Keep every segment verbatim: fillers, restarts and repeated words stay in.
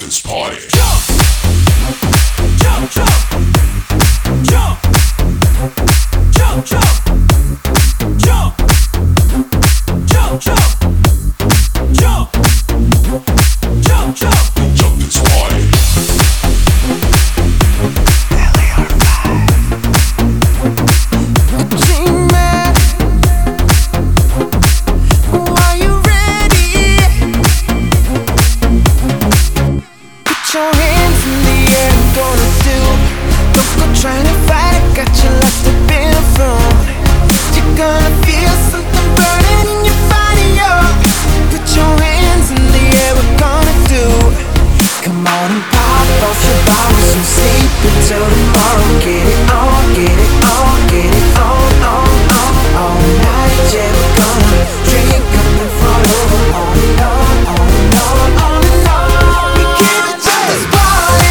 this party. Jump, jump, jump, jump, jump, jump, jump, jump, jump, jump, jump, jump, Jump this party. Trying to fight it, got you lost up in a phone. You're gonna feel something burning in your body, oh. Put your hands in the air, we're gonna do. Come on and pop off your bottles and sleep until tomorrow. Get it on, get it on, get it on, on, on. All night, yeah, we're gonna drink up and fall over. On and on, on and on, on and on. We give it to this party.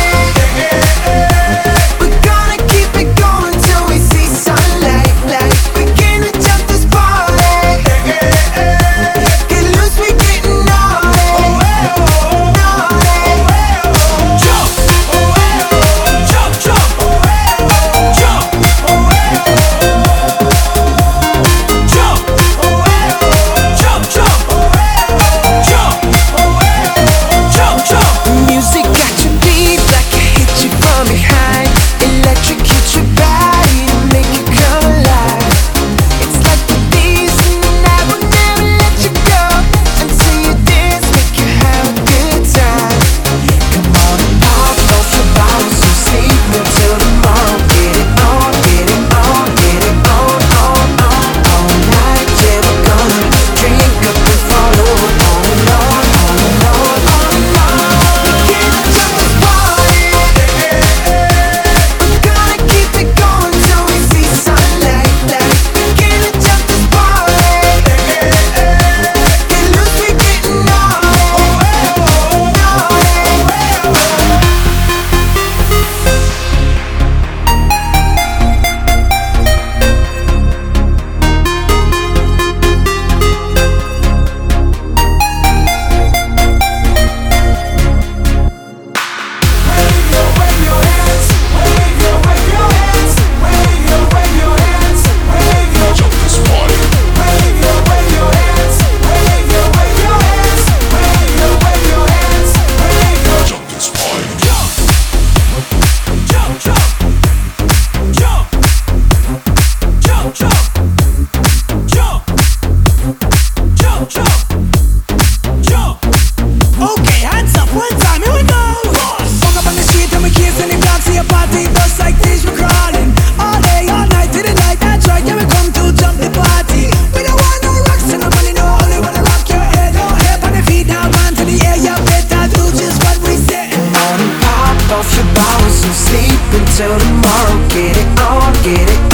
Off your bottles and sleep until tomorrow. Get it on, get it